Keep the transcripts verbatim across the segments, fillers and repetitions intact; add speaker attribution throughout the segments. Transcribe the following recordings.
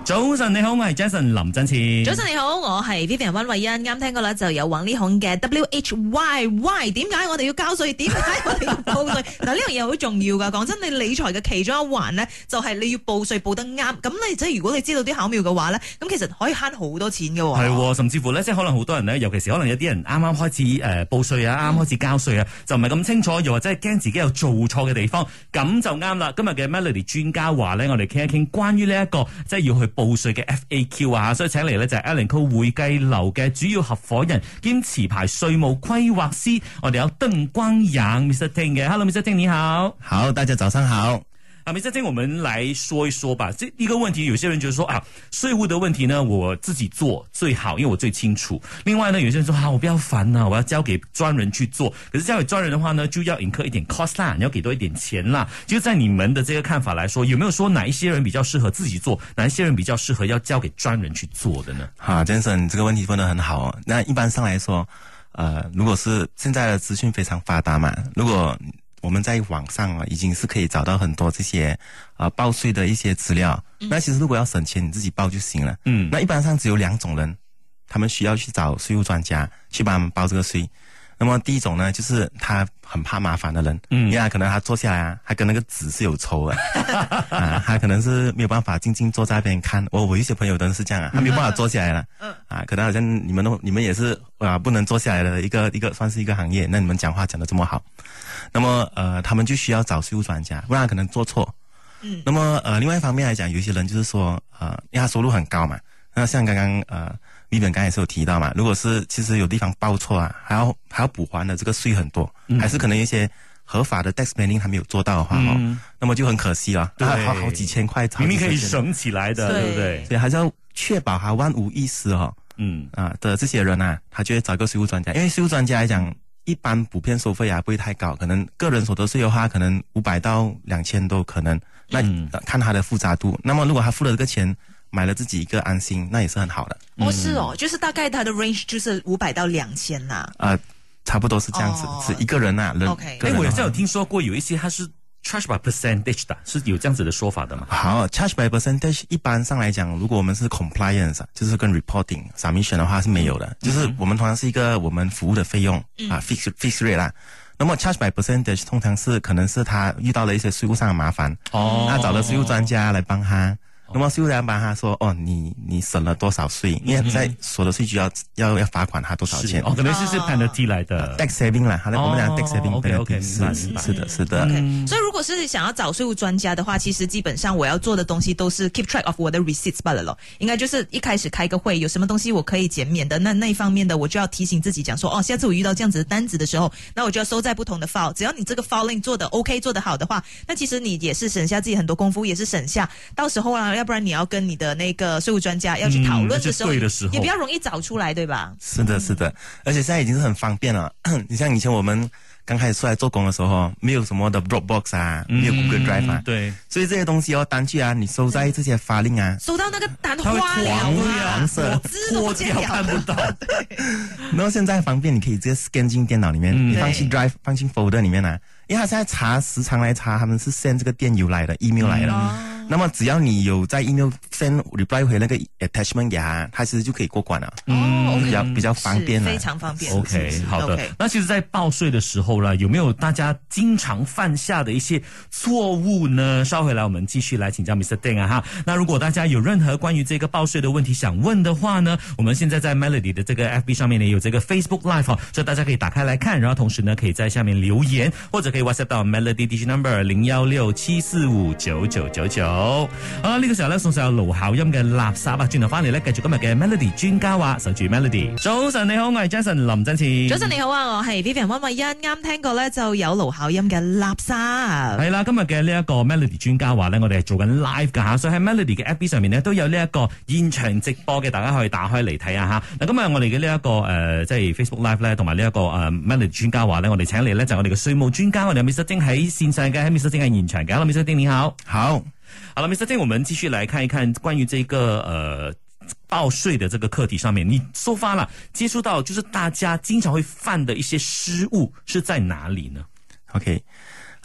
Speaker 1: 早晨你好，我係 Jason 林振前。
Speaker 2: 早晨你好，我係 Vivian 溫慧欣。啱聽過啦，就有王力宏嘅 W H Y Y。點解我哋要交稅？點解我哋要報稅？嗱，呢樣嘢好重要噶。講真，你理財嘅其中一環呢，就係你要報稅報得啱。咁你即係如果你知道啲巧妙嘅話呢，咁其實可以慳好多錢嘅。
Speaker 1: 係，甚至乎呢，即係可能好多人呢，尤其是可能有啲人啱啱開始誒、呃、報稅啊，啱啱開始交稅啊，就唔係咁清楚，又或者係驚自己有做錯嘅地方，咁就啱啦。今日嘅 Melody 專家話呢，我哋傾一傾關於呢一個即係要去報稅嘅 F A Q 啊，所以請嚟呢就係 Elanco 會計樓嘅主要合夥人兼持牌稅務規劃師，我哋有鄧光陽 Mister Ting 嘅。Hello Mister Ting 你好。
Speaker 3: 好，大家早上好。
Speaker 1: 啊，Mister Ting，我們來說一說吧。這一個問題，有些人覺得說啊，稅務的問題呢，我自己做最好，因為我最清楚。另外呢，有些人說啊，我不要煩啊，我要交給專人去做。可是交給專人的話呢，就要 incur 一點 cost 啦，你要給多一點錢啦。就在你們的這個看法來說，有沒有說哪一些人比較適合自己做，哪一些人比較適合要交給專人去做的呢？
Speaker 3: 好 Jason， 你這個問題問得很好哦。那一般上來說，呃，如果是現在的資訊非常發達嘛，如果我們在網上啊，已經是可以找到很多這些呃報稅的一些資料。嗯、那其實如果要省錢，你自己報就行了。嗯，那一般上只有兩種人，他們需要去找稅務專家去幫他們報這個稅。那麼第一種呢，就是他很怕麻煩的人，嗯，因為他可能他坐下來啊，他跟那個紙是有仇的，啊，他可能是沒有辦法靜靜坐在那邊看。我我有些朋友都是這樣啊，他沒有辦法坐下來了，嗯，啊，可能好像你們都你們也是啊，不能坐下來的一個一個算是一個行業，那你們講話講得這麼好，那麼呃，他們就需要找稅務專家，不然可能做錯。嗯，那麼呃，另外一方面來講，有些人就是說呃，因為他收入很高嘛，那像剛剛呃。Vivian 剛才也是有提到嘛，如果是其實有地方報錯啊，還要還要補還的這個稅很多，嗯、還是可能一些合法的 tax planning 還沒有做到的話，哦、嗯，那麼就很可惜了，對，好好幾千塊，
Speaker 1: 明明可以省起來的，對，對不對？
Speaker 3: 所以還是要確保他萬無一失哦，嗯啊的這些人啊，他就會找一個稅務專家，因為稅務專家來講，一般普遍收費啊不會太高，可能個人所得稅的話，可能五百到兩千都可能，那、嗯、看他的複雜度。那麼如果他付了這個錢，買了自己一個安心，那也是很好的。
Speaker 2: 哦，是哦，就是大概它的 range 就是五百到兩千呐。啊、
Speaker 3: 呃，差不多是這樣子，哦、是一個人呐、啊。人
Speaker 2: OK。
Speaker 1: 哎，我好像有聽說過有一些它是 charge by percentage 的，是有這樣子的說法的嗎？
Speaker 3: 好 ，charge by percentage 一般上來講，如果我們是 compliance，就是跟 reporting submission 的話是沒有的，嗯、就是我們通常是一個我們服務的費用、嗯、啊 fixed fixed rate 啦。那麼 charge by percentage 通常是可能是他遇到了一些稅務上的麻煩，哦，那找了稅務專家來幫他。那麼稅務員幫他說：“哦，你你省了多少稅？因為在所得稅局要要要罰款他多少錢？
Speaker 1: 哦，可能是是 penalty 來的
Speaker 3: tax saving 啦，好的，我們講 tax saving
Speaker 1: OK OK，
Speaker 3: 是是是的，是的。
Speaker 2: OK，所以如果是想要找稅務專家的話，其實基本上我要做的東西都是 keep track of 我的 receipts 罷了咯。應該就是一開始開個會，有什麼東西我可以減免的，那那一方面的我就要提醒自己講說，哦，下次我遇到這樣子的單子的時候，那我就要收在不同的 file。只要你這個 filing 做的 OK 做得好的話，那其實你也是省下自己很多功夫，也是省下到時候啊，要不然你要跟你的那個稅務專家要去討論的時候，嗯、的時候也比較容易找出來，對吧？
Speaker 3: 是的，是的，而且現在已經是很方便了。你像以前我們剛開始出來做工的時候，沒有什麼的 Dropbox 啊，嗯、沒有 Google Drive 啊，對，所以這些東西哦，單據啊，你收在這些filing啊，
Speaker 2: 收到那個單花了啊，
Speaker 3: 黃色，
Speaker 2: 破掉
Speaker 1: 看不到。
Speaker 3: 然後現在方便，你可以直接 scan 進電腦裡面，嗯、你放進 Drive，放進 folder 裡面啊。因為他現在查時常來查，他們是 send 這個電郵來的 email 來的。嗯那麼只要你有在 email send reply 回那個 attachment 給他，他其實就可以過關了。
Speaker 2: 哦，
Speaker 3: 比較比較方便了，
Speaker 2: 非常方便。
Speaker 1: OK， 好的。Okay. 那其實，在報稅的時候呢，有沒有大家經常犯下的一些錯誤呢？稍回來，我們繼續來請教 Mister Ting 啊哈。那如果大家有任何關於這個報稅的問題想問的話呢，我們現在在 Melody 的這個 F B 上面呢有這個 Facebook Live 哦，所以大家可以打開來看，然後同時呢可以在下面留言，或者可以 WhatsApp 到 Melody Digi Number 零一六七四五九九九九。好啦，呢、這個時候咧送上有盧巧音嘅垃圾啊，轉頭翻嚟咧繼續今日嘅 Melody 專家話，守住 Melody。早晨你好，我係 Jason 林振前。
Speaker 2: 早晨你好啊，我係 Vivian 溫慧欣。啱聽過咧就有盧巧音嘅垃圾。
Speaker 1: 係啦，今日嘅呢一個 Melody 專家話咧，我哋係做緊 live 噶吓，所以喺 Melody 嘅 F B 上面呢，都有呢一個現場直播嘅，大家可以打開嚟睇下吓。嗱，今日我哋嘅呢一個誒、呃，即係 Facebook Live 咧，同埋呢一個誒、呃、Melody 專家話咧，我哋請嚟咧就係我哋嘅稅務專家，我哋有 Mister Ting 喺線上嘅，喺 Mister Ting 喺現場嘅。Hello Mister Ting 你好。
Speaker 3: 好。
Speaker 1: 好了 ，Mister Ting， 我們繼續來看一看關於這個呃報稅的這個課題上面，你收發了接觸到就是大家經常會犯的一些失誤是在哪裡呢
Speaker 3: ？OK，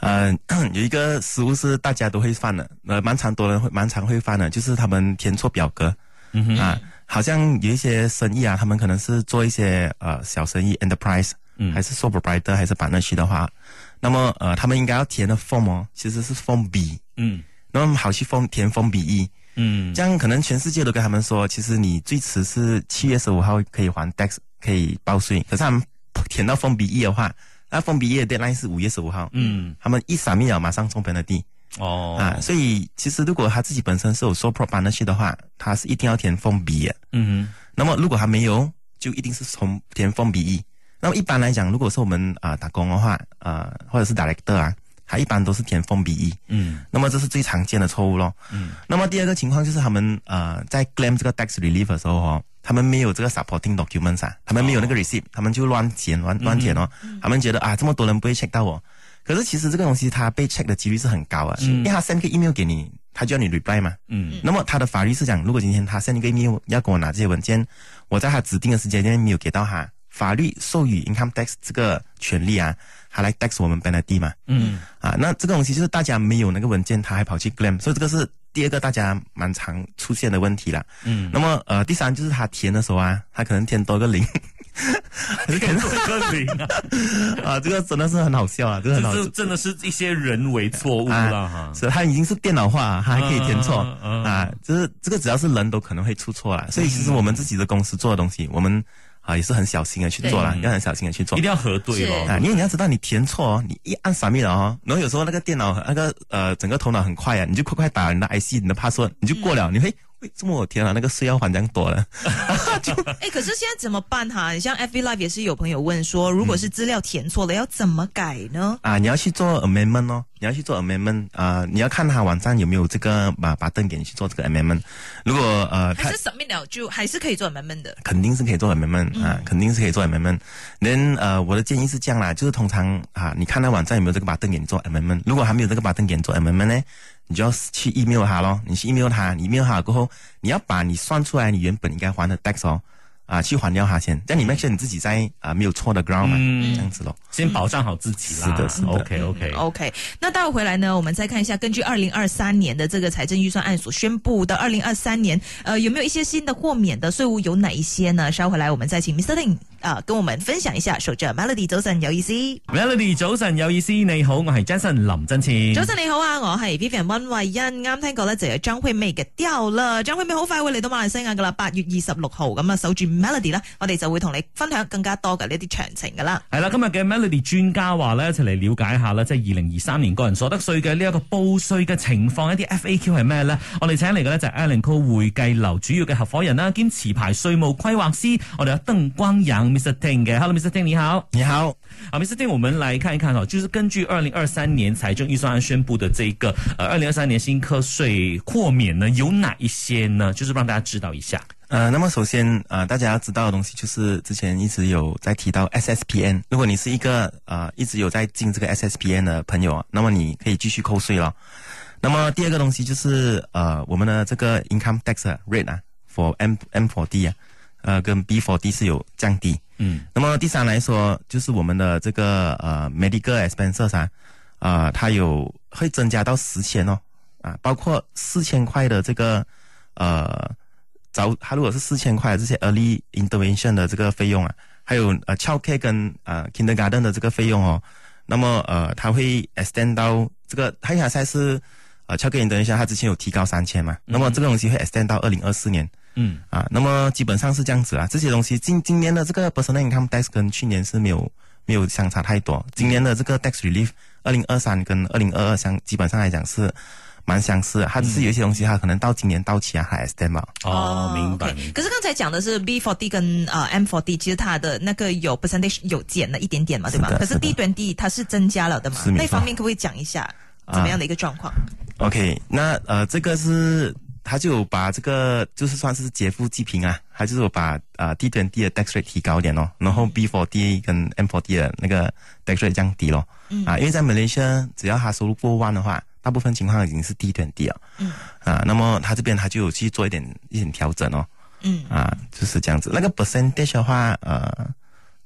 Speaker 3: 呃，有一个失误是大家都会犯的，呃，蛮常多人会蛮常会犯的，就是他们填错表格。嗯哼啊，好像有一些生意啊，他们可能是做一些呃小生意 enterprise，嗯，还是 sole proprietor 还是 partnership 的话，那么呃他们应该要填的 form 哦，其实是 form B， 嗯，那么好去 form 填 form B 一，嗯，这样可能全世界都跟他们说，其实你最迟是七月十五号可以还 tax 可以报税，可是他们填到 form B 一的话，那 form B 一的 deadline 是五月十五号，嗯，他们一闪灭了马上中 penalty。哦啊，所以其实如果他自己本身是有 sole proprietorship 的话，他是一定要填 form B 的。嗯哼。那么如果他没有，就一定是从填 form B 一。那么一般来讲，如果是我们啊、呃、打工的话，啊、呃、或者是 director 啊，他一般都是填 form B 一。嗯。那么这是最常见的错误咯。嗯。那么第二个情况就是他们呃在 claim 这个 tax relief 的时候哦，他们没有这个 supporting documents 啊，他们没有那个 receipt，、哦、他们就乱填乱乱填哦、嗯。他们觉得啊这么多人不会 check 到我。可是其实这个东西它被 check 的几率是很高啊，嗯、因为他 send 个 email 给你，他就要你 reply 嘛。嗯。那么他的法律是讲，如果今天他 send 一个 email 要跟我拿这些文件，我在他指定的时间内没有给到他，法律授予 income tax 这个权利啊，他来 tax 我们 penalty 嘛。嗯。啊，那这个东西就是大家没有那个文件，他还跑去 claim， 所以这个是第二个大家蛮常出现的问题啦。嗯。那么呃，第三就是他填的时候啊，他可能填多个零。
Speaker 1: 填多个零啊！
Speaker 3: 啊，这个真的是很好笑啊！这个很好笑，
Speaker 1: 这真的是一些人为错误啦哈。
Speaker 3: 是，他已经是电脑化，他还可以填错啊。就是这个只要是人都可能会出错啦。所以其实我们自己的公司做的东西，我们啊也是很小心的去做啦，要很小心的去做，
Speaker 1: 一定要核对咯。
Speaker 3: 啊，因为你要知道你填错哦，你一按 submit 了哦，然后有时候那个电脑那个呃整个头脑很快啊，你就快快打你的 I C 你的 password， 你就过了，你会。喂，这么我天啊，那个税要还这样多了。
Speaker 2: 哎，可是现在怎么办哈？像 F B Live 也是有朋友问说，如果是资料填错了，嗯、要怎么改呢？
Speaker 3: 啊，你要去做 amendment 哦，你要去做 amendment 啊、呃，你要看他网站有没有这个把把灯给你去做这个 amendment。如果呃，
Speaker 2: 还是 submit 了就还是可以做 amendment 的，
Speaker 3: 肯定是可以做 amendment、嗯、啊，肯定是可以做 amendment。then 呃，我的建议是这样啦，就是通常啊，你看那网站有没有这个把灯给你做 amendment， 如果还没有这个把灯给你做 amendment 呢？你就要去 email 他咯，你去 email 他，你 email 他过后，你要把你算出来你原本应该还的 tax 哦，啊，去还掉他先，这样你 make sure 你自己在啊没有错的 ground 嘛、嗯，这样子咯，
Speaker 1: 先保障好自己啦。
Speaker 3: 是的，是的
Speaker 1: ，OK OK
Speaker 2: OK。那待会回来呢，我们再看一下，根据二零二三年的这个财政预算案所宣布的二零二三年，呃，有没有一些新的豁免的税务有哪一些呢？稍回来我们再请 Mister Ting 啊、呃，跟我们分享一下。守着 Melody 早晨有意思
Speaker 1: ，Melody 早晨有意思，你好，我係 Jason 林振前。
Speaker 2: 早晨你好啊，我係 Vivian 溫慧欣。啱聽過咧就有張惠妹嘅掉了，張惠妹好快會嚟到馬來西亞噶啦，八月二十六號咁啊，守住 Melody 啦，我哋就會同你分享更加多嘅呢啲詳情噶啦。
Speaker 1: 係啦，今日嘅 Melody 專家話咧，一齊嚟了解一下啦，即係二零二三年個人所得稅嘅呢一個報稅嘅情況，一啲 F A Q 係咩咧？我哋請嚟嘅咧就係 Allen Co 會計樓主要嘅合夥人啦，兼持牌稅務規劃師，我哋有鄧光陽 Mister Ting 嘅。Hello，Mister Ting 你好，
Speaker 3: 你好。
Speaker 1: 好 ，Mister Ting， 我們來看一看哦，就是根據二零二三年財政預算案宣布的這個，呃，二零二三年新課稅豁免呢，有哪一些呢？就是讓大家知道一下。
Speaker 3: 呃，那麼首先，呃，大家要知道的東西就是之前一直有在提到 S S P N， 如果你是一個呃一直有在進這個 S S P N 的朋友，那麼你可以繼續扣稅了。那麼第二個東西就是呃我們的這個 income tax rate 啊 ，for M M four D 啊，呃跟 B four D 是有降低。嗯。那麼第三來說，就是我們的這個呃 medical expenses 啊，啊、呃、它有會增加到十千哦，啊包括四千塊的這個呃。早，它如果是四千塊這些 early intervention 的這個費用啊，還有呃 childcare 跟呃 kindergarten 的這個費用哦，那麼呃它會 extend 到這個，它現在是呃 childcare intervention 它之前有提高三千嘛，嗯、那麼這個東西會 extend 到二零二四年，嗯啊，那麼基本上是這樣子啊，這些東西今今年的這個 personal income tax 跟去年是沒有沒有相差太多，今年的這個 tax relief 二零二三跟二零二二相基本上來講是蠻相似的，它只是有一些東西，它可能到今年到期啊，還 extend 嘛。
Speaker 1: 哦，明白。
Speaker 2: Okay. 可是剛才講的是 B four D 跟呃 M four D， 其實它的那個有 percentage 有減了一點點嘛，對嗎？可是 D twenty 它是增加了的嘛？那方面可不可以講一下怎麼樣的一個狀況、啊、
Speaker 3: ？OK， 那呃這個是，它就有把這個就是算是劫富濟貧啊，它就是有把呃 D twenty 的 tax rate 提高一點咯，然後 B four D 跟 M four D 的那個 tax rate 降低咯。嗯。啊，因為在 Malaysia 只要它收入過萬的話，大部分情況已經是 D twenty 了，嗯，啊，那麼他這邊他就有去做一點一點調整哦，嗯，啊，就是這樣子。那個 percentage 的話，呃，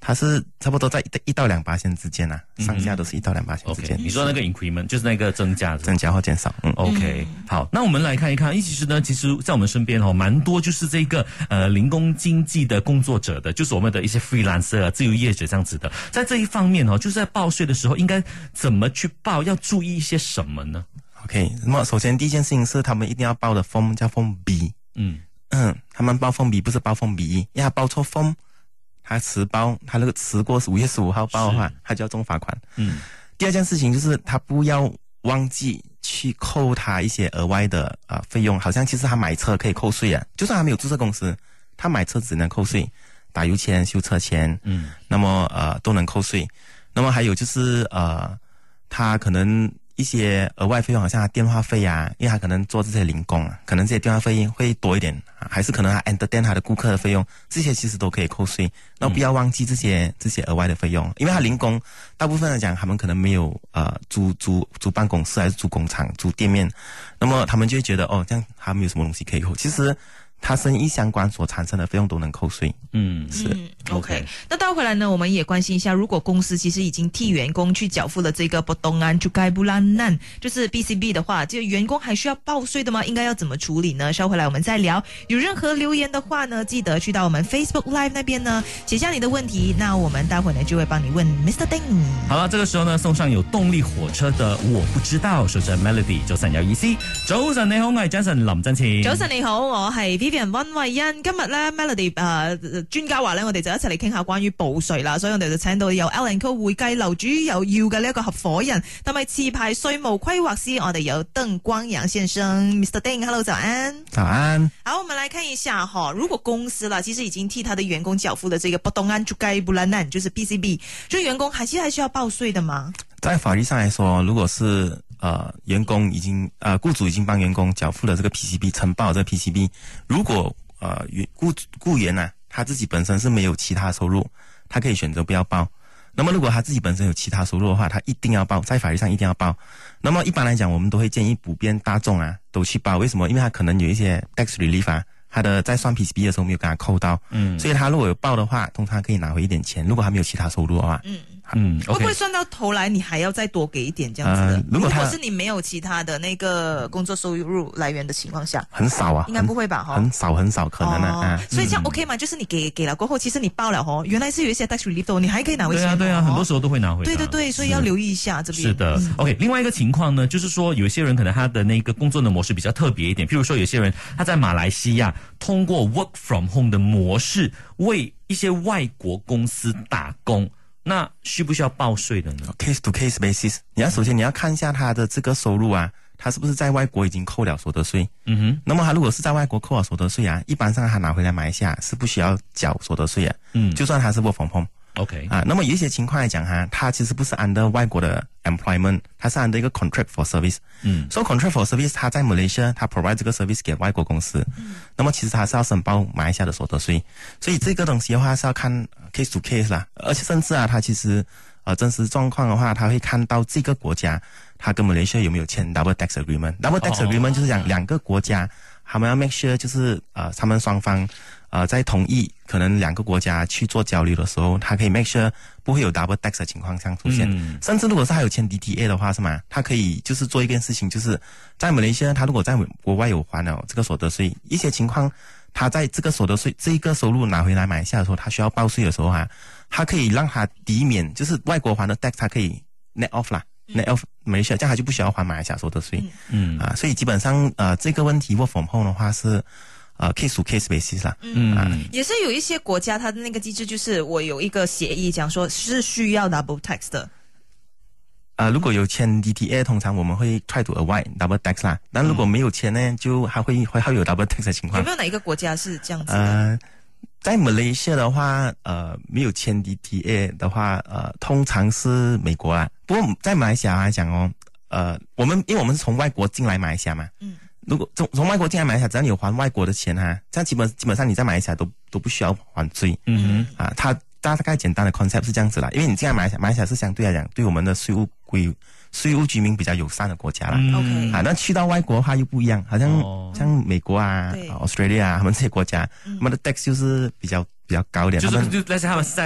Speaker 3: 它是差不多在一到两巴仙之间啊，上下都是一到两巴仙之间。
Speaker 1: OK， 你说那个 increment 就是那个增加，
Speaker 3: 增加或减少。嗯
Speaker 1: ，OK， 好，那我们来看一看，其实呢，其实在我们身边哦，蛮多就是这个呃零工经济的工作者的，就是我们的一些 freelancer 啊、自由业者这样子的，在这一方面哦，就是在报税的时候应该怎么去报，要注意一些什么呢
Speaker 3: ？OK， 那么首先第一件事情是他们一定要报的 form 叫 form B。
Speaker 1: 嗯
Speaker 3: 嗯，他们报 form B 不是报 form B， 因为他报错 form。他迟报，他那个迟过五月十五号报的话，他就要重罚款。
Speaker 1: 嗯，
Speaker 3: 第二件事情就是他不要忘记去扣他一些额外的呃费用，好像其实他买车可以扣税啊，就算他没有注册公司，他买车只能扣税，打油钱、修车钱，嗯，那么呃都能扣税。那么还有就是呃，他可能一些额外费用，好像他电话费啊，因为他可能做这些零工啊，可能这些电话费会多一点，还是可能他 entertain 他的顾客的费用，这些其实都可以扣税。那不要忘记这些这些额外的费用，因为他零工大部分来讲，他们可能没有呃租租租办公室还是租工厂租店面，那么他们就会觉得哦，这样他没有什么东西可以扣。其实他生意相关所产生的费用都能扣税。
Speaker 1: 嗯，
Speaker 3: 是、
Speaker 2: 嗯、OK。那倒回来呢，我们也关心一下，如果公司其实已经替员工去缴付了这个 potongan cukai bulanan， 就是 B C B 的话，这个员工还需要报税的吗？应该要怎么处理呢？稍回来我们再聊。有任何留言的话呢，记得去到我们 Facebook Live 那边呢，写下你的问题，那我们待会呢就会帮你问 Mister Ding。
Speaker 1: 好了，这个时候呢，送上有动力火车的我不知道，守着 Melody 早晨有意思。早晨你好，我係 Jason 林振前。
Speaker 2: 早晨你好，我係 Vivian 溫慧欣。今日咧 Melody 誒、呃、專家話咧，我哋就一齊嚟傾下關於報稅啦，所以我哋就請到有 L and Co 會計樓主有要嘅呢一個合夥人，同埋持牌稅務規劃師，我哋有鄧光陽先生 ，Mister Ding，Hello， 早安。
Speaker 3: 早安。
Speaker 2: 好，我們來看一下哈，如果公司啦，其實已經替他的員工繳付了這個 potongan cukai bulanan， 就是 B C B， 就員工還是還需要報稅的嗎？
Speaker 3: 在法律上來說，如果是呃員工已經呃雇主已經幫員工繳付了這個 P C B， 承報這個 P C B， 如果呃雇雇員啊他自己本身是沒有其他收入，他可以選擇不要報。那麼如果他自己本身有其他收入的話，他一定要報，在法律上一定要報。那麼一般來講，我們都會建議普遍大眾啊都去報。為什麼？因為他可能有一些 tax relief 啊，他的在算 P C B 的時候沒有給他扣到，嗯，所以他如果有報的話，通常可以拿回一點錢。如果他沒有其他收入的話，
Speaker 2: 嗯。
Speaker 1: 嗯，
Speaker 2: okay. 會不會算到頭來你還要再多給一點這樣子的？呃、如, 果如果是你沒有其他的那個工作收入來源的情況下，
Speaker 3: 很少啊，
Speaker 2: 應該不會吧？
Speaker 3: 很少很少可能啊。
Speaker 2: 哦
Speaker 3: 啊
Speaker 2: 所以這樣 OK 嘛？嗯、就是你給給了過後，其實你報了哦，原來是有一些 tax relief， 你還可以拿回錢。
Speaker 1: 對啊對啊，很多時候都會拿回。
Speaker 2: 對對對，所以要留意一下這邊。
Speaker 1: 是的、嗯、，OK。另外一個情況呢，就是說有些人可能他的那個工作的模式比較特別一點，譬如說有些人他在馬來西亞通過 work from home 的模式為一些外國公司打工。那需不需要報稅的呢
Speaker 3: ？Case to case basis， 你要首先你要看一下他的這個收入啊，他是不是在外國已經扣了所得稅？嗯哼。那麼他如果是在外國扣了所得稅啊，一般上他拿回來馬來西亞是不需要繳所得稅啊。嗯。就算他是 work from home。OK。啊，那麼有一些情況來講哈，他其實不是 under 外國的 employment，他是 under 一個 contract for service。嗯。So contract for service， 他在 Malaysia， 他 provide 這個 service 給外國公司。嗯。那麼其實他是要申報馬來西亞的所得稅，所以這個東西的話是要看 case to case 啦，而且甚至啊，他其實呃真實狀況的話，他會看到這個國家他跟 Malaysia 有沒有簽 double tax agreement。double tax agreement 就是講兩個國家，他們要 make sure 就是呃他們雙方呃在同意可能兩個國家去做交流的時候，他可以 make sure 不會有 double tax 的情況上出現。嗯、甚至如果是他有簽 D T A 的話，是嗎？他可以就是做一件事情，就是在 Malaysia 他如果在國外有還了這個所得稅，一些情況。他在這個所得稅這一個收入拿回來馬來西亞的時候，他需要報稅的時候啊，他可以讓他抵免，就是外國還的 tax， 他可以 net off 啦、嗯、，net off 馬來西亞，這樣他就不需要還馬來西亞所得稅。嗯啊，所以基本上呃這個問題 work from home 的話是呃 case to case basis 啦。
Speaker 2: 嗯啊，也是有一些國家它的那個機制就是我有一個協議講說是需要 double tax 的。
Speaker 3: 呃，如果有簽 D T A， 通常我們會 try to avoid double tax 啦。但如果沒有簽呢，就還會會會有 double tax 的情況。
Speaker 2: 有沒有哪一個國家是這樣子的？
Speaker 3: 呃，在 Malaysia 的話，呃，沒有簽 D T A 的話，呃，通常是美國啦。不過在馬來西亞來講哦，呃，我們因為我們是從外國進來馬來西亞嘛，嗯，如果從從外國進來馬來西亞，只要你有還外國的錢哈，這樣基本基本上你在馬來西亞都都不需要還稅。嗯哼，啊，他。大概簡單的 concept 是這樣子啦，因為你進來馬來西亞，馬來西亞是相對來講對我們的稅務規稅務居民比較友善的國家啦。嗯、啊，那去到外國的話又不一樣，好像、哦、像美國啊、Australia 啊，他們這些國家，他們的 tax 就是比較比較高一點。
Speaker 1: 就是就，但是他們是在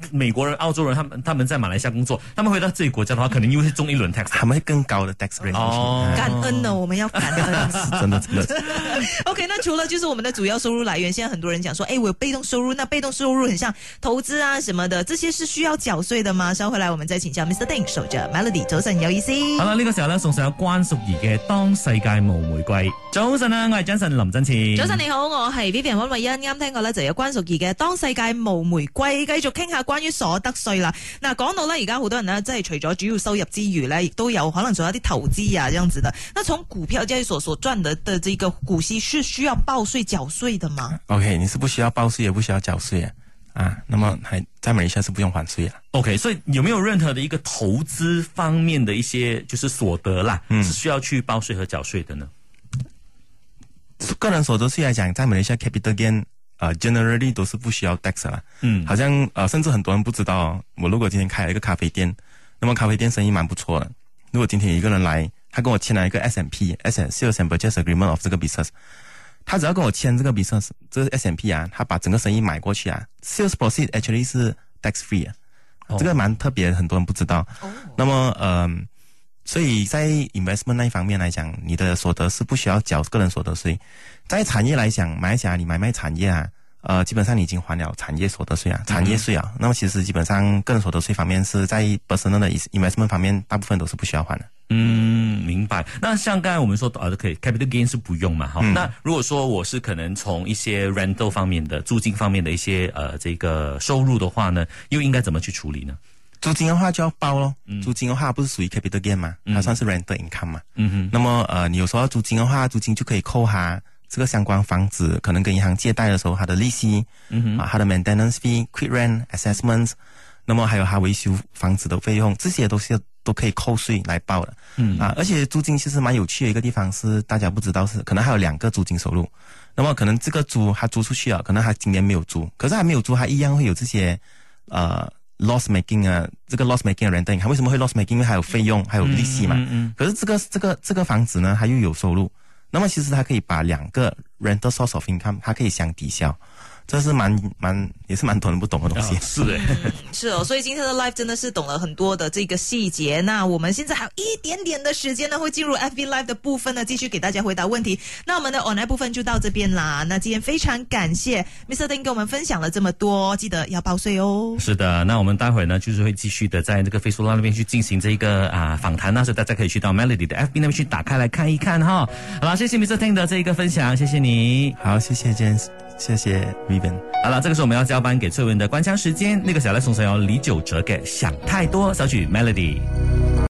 Speaker 1: 美国人、澳洲人，他们他们在马来西亚工作，他们回到自己国家的话，可能又会中一轮 tax，
Speaker 3: 他们会更高的 tax rate。
Speaker 1: 哦，
Speaker 2: 感恩呢，我们要感恩。
Speaker 3: 真的真的。
Speaker 2: OK， 那除了就是我们的主要收入来源，现在很多人讲说，哎，我有被动收入，那被動收入很像投資啊什麼的，這些是需要繳稅的嗎？稍回來我們再請教 Mister Ding， 守着 Melody， 早晨有意思。
Speaker 1: 好啦，呢、這個時候咧送上有關淑怡嘅《當世界無玫瑰》。早晨啊，我係 Jason 林振前。
Speaker 2: 早晨你好，我係 Vivian 溫慧欣。啱聽過咧就有關淑怡嘅《當世界無玫瑰》，繼續傾下關於所得稅啦。嗱，講到咧而家好多人呢，即係除咗主要收入之餘呢，亦都有可能做一啲投資啊，這樣子的。那從股票交易所所賺的的這個股息是需要報稅繳稅的嗎
Speaker 3: ？OK， 你是不需要報稅，也不需要繳稅啊。啊，那麼還在馬來西亞是不用還稅啊。
Speaker 1: OK， 所以有沒有任何的一個投資方面的一些就是所得啦，嗯、是需要去報稅和繳稅的呢？
Speaker 3: 個人所得稅來講，在馬來西亞 capital gain， 呃 generally 都是不需要 tax 啦。嗯，好像呃，甚至很多人不知道、哦，我如果今天開了一個咖啡店，那麼咖啡店生意蠻不錯的。如果今天有一個人來，他跟我簽了一個 S and P，S Sales and Purchase Agreement of 這個 business。他只要跟我簽這個 business， 這個 S and P 啊，他把整個生意買過去啊 ，sales proceed actually 是 tax free 啊，哦、這個蠻特別，很多人不知道。哦、那麼呃，所以在 investment 那一方面來講，你的所得是不需要繳個人所得稅。在產業來講，馬來西亞你買賣產業啊，呃，基本上你已經還了產業所得稅啊，產業稅啊。嗯、那麼其實基本上個人所得稅方面是在 personal 的 investment 方面，大部分都是不需要還的。
Speaker 1: 嗯，明白。那像剛才我們說呃，可以 capital gain 是不用嘛，哈、嗯。那如果說我是可能從一些 rental 方面的租金方面的一些呃這個收入的話呢，又應該怎麼去處理呢？
Speaker 3: 租金的話就要報咯，嗯、租金的話不是屬於 capital gain 嘛，它算是 rental income 嘛。嗯哼。那麼呃，你有時候租金的話，租金就可以扣下這個相關房子可能跟銀行借貸的時候，它的利息，嗯哼，啊，它的 maintenance fee、quit rent assessments， 那麼還有它維修房子的費用，這些都是都可以扣稅來報的。嗯啊，而且租金其實蠻有趣的一個地方是大家不知道是可能還有兩個租金收入，那麼可能這個租他租出去了，可能他今年沒有租，可是他沒有租，他一樣會有這些呃 loss making 啊，這個 loss making 的 renting， 他為什麼會 loss making？ 因為還有費用，還有利息嘛。嗯嗯嗯、可是這個這個這個房子呢，它又有收入，那麼其實它可以把兩個 rental source of income， 它可以相抵消。這是蠻蠻也是蠻多人不懂的東西。
Speaker 1: 哦、是的、
Speaker 2: 嗯，是哦，所以今天的 live 真的是懂了很多的這個細節。那我們現在還有一點點的時間呢，會進入 F B Live 的部分呢，繼續給大家回答問題。那我們的 online 部分就到這邊啦。那今天非常感謝 Mister Ding 跟我們分享了這麼多，記得要報稅哦。
Speaker 1: 是的，那我們待會呢就是會繼續的在這個 Facebook 那邊去進行這個啊訪談啊，所以大家可以去到 Melody 的 F B 那邊去打開來看一看哈。好啦，謝謝 Mister Ding 的這個分享，謝謝你。
Speaker 3: 好，謝謝 James，謝謝 Vivian。
Speaker 1: 好了，這個時候我們要交班給翠文的官腔時間，那個小來送上由李玖哲嘅想太多小曲 Melody。